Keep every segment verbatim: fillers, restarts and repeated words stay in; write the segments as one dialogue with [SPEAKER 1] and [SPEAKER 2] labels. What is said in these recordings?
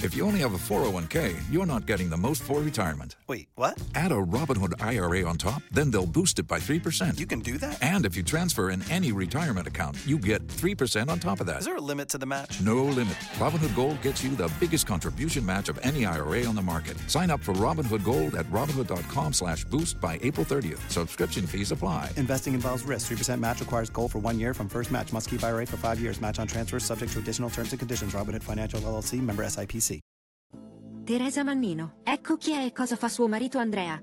[SPEAKER 1] If you only have a four oh one k, you're not getting the most for retirement.
[SPEAKER 2] Wait, what?
[SPEAKER 1] Add a Robinhood I R A on top, then they'll boost it by three percent.
[SPEAKER 2] You can do that?
[SPEAKER 1] And if you transfer in any retirement account, you get three percent on top of that.
[SPEAKER 2] Is there a limit to the match?
[SPEAKER 1] No limit. Robinhood Gold gets you the biggest contribution match of any I R A on the market. Sign up for Robinhood Gold at Robinhood.com slash boost by April thirtieth. Subscription fees apply.
[SPEAKER 2] Investing involves risk. three percent match requires gold for one year from first match. Must keep I R A for five years. Match on transfers subject to additional terms and conditions. Robinhood Financial L L C, member S I P C.
[SPEAKER 3] Teresa Mannino. Ecco chi è e cosa fa suo marito Andrea.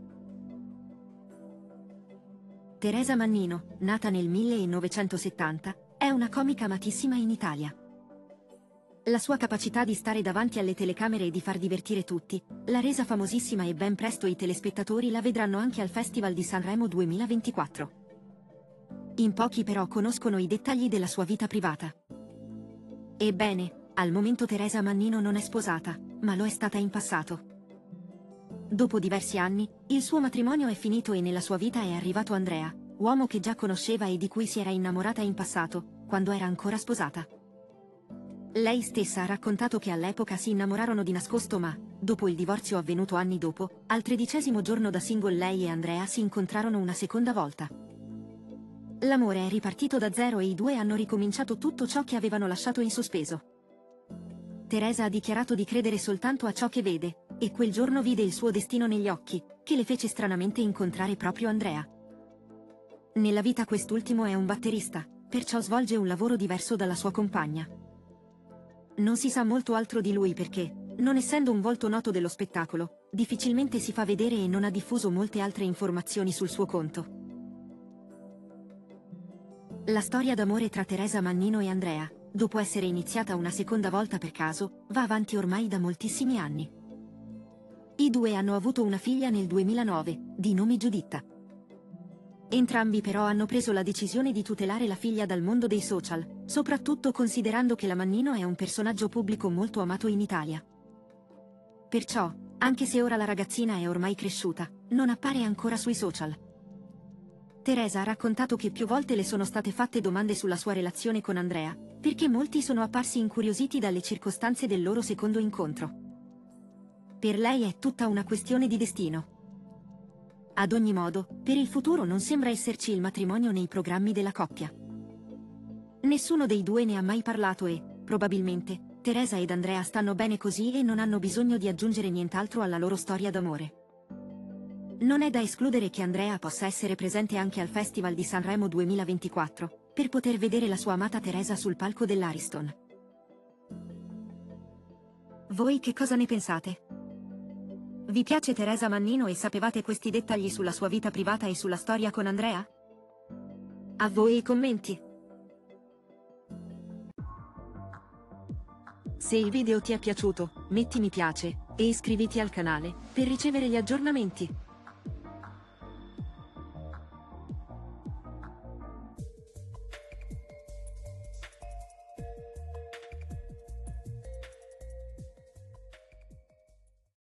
[SPEAKER 3] Teresa Mannino, nata nel millenovecentosettanta, è una comica amatissima in Italia. La sua capacità di stare davanti alle telecamere e di far divertire tutti l'ha resa famosissima e ben presto i telespettatori la vedranno anche al Festival di Sanremo duemilaventiquattro. In pochi però conoscono i dettagli della sua vita privata. Ebbene, al momento Teresa Mannino non è sposata, ma lo è stata in passato. Dopo diversi anni, il suo matrimonio è finito e nella sua vita è arrivato Andrea, uomo che già conosceva e di cui si era innamorata in passato, quando era ancora sposata. Lei stessa ha raccontato che all'epoca si innamorarono di nascosto ma, dopo il divorzio avvenuto anni dopo, al tredicesimo giorno da single lei e Andrea si incontrarono una seconda volta. L'amore è ripartito da zero e i due hanno ricominciato tutto ciò che avevano lasciato in sospeso. Teresa ha dichiarato di credere soltanto a ciò che vede, e quel giorno vide il suo destino negli occhi, che le fece stranamente incontrare proprio Andrea. Nella vita quest'ultimo è un batterista, perciò svolge un lavoro diverso dalla sua compagna. Non si sa molto altro di lui perché, non essendo un volto noto dello spettacolo, difficilmente si fa vedere e non ha diffuso molte altre informazioni sul suo conto. La storia d'amore tra Teresa Mannino e Andrea, dopo essere iniziata una seconda volta per caso, va avanti ormai da moltissimi anni. I due hanno avuto una figlia nel duemilanove, di nome Giuditta. Entrambi però hanno preso la decisione di tutelare la figlia dal mondo dei social, soprattutto considerando che la Mannino è un personaggio pubblico molto amato in Italia. Perciò, anche se ora la ragazzina è ormai cresciuta, non appare ancora sui social. Teresa ha raccontato che più volte le sono state fatte domande sulla sua relazione con Andrea, perché molti sono apparsi incuriositi dalle circostanze del loro secondo incontro. Per lei è tutta una questione di destino. Ad ogni modo, per il futuro non sembra esserci il matrimonio nei programmi della coppia. Nessuno dei due ne ha mai parlato e, probabilmente, Teresa ed Andrea stanno bene così e non hanno bisogno di aggiungere nient'altro alla loro storia d'amore. Non è da escludere che Andrea possa essere presente anche al Festival di Sanremo duemilaventiquattro, per poter vedere la sua amata Teresa sul palco dell'Ariston. Voi che cosa ne pensate? Vi piace Teresa Mannino e sapevate questi dettagli sulla sua vita privata e sulla storia con Andrea? A voi i commenti! Se il video ti è piaciuto, metti mi piace e iscriviti al canale per ricevere gli aggiornamenti.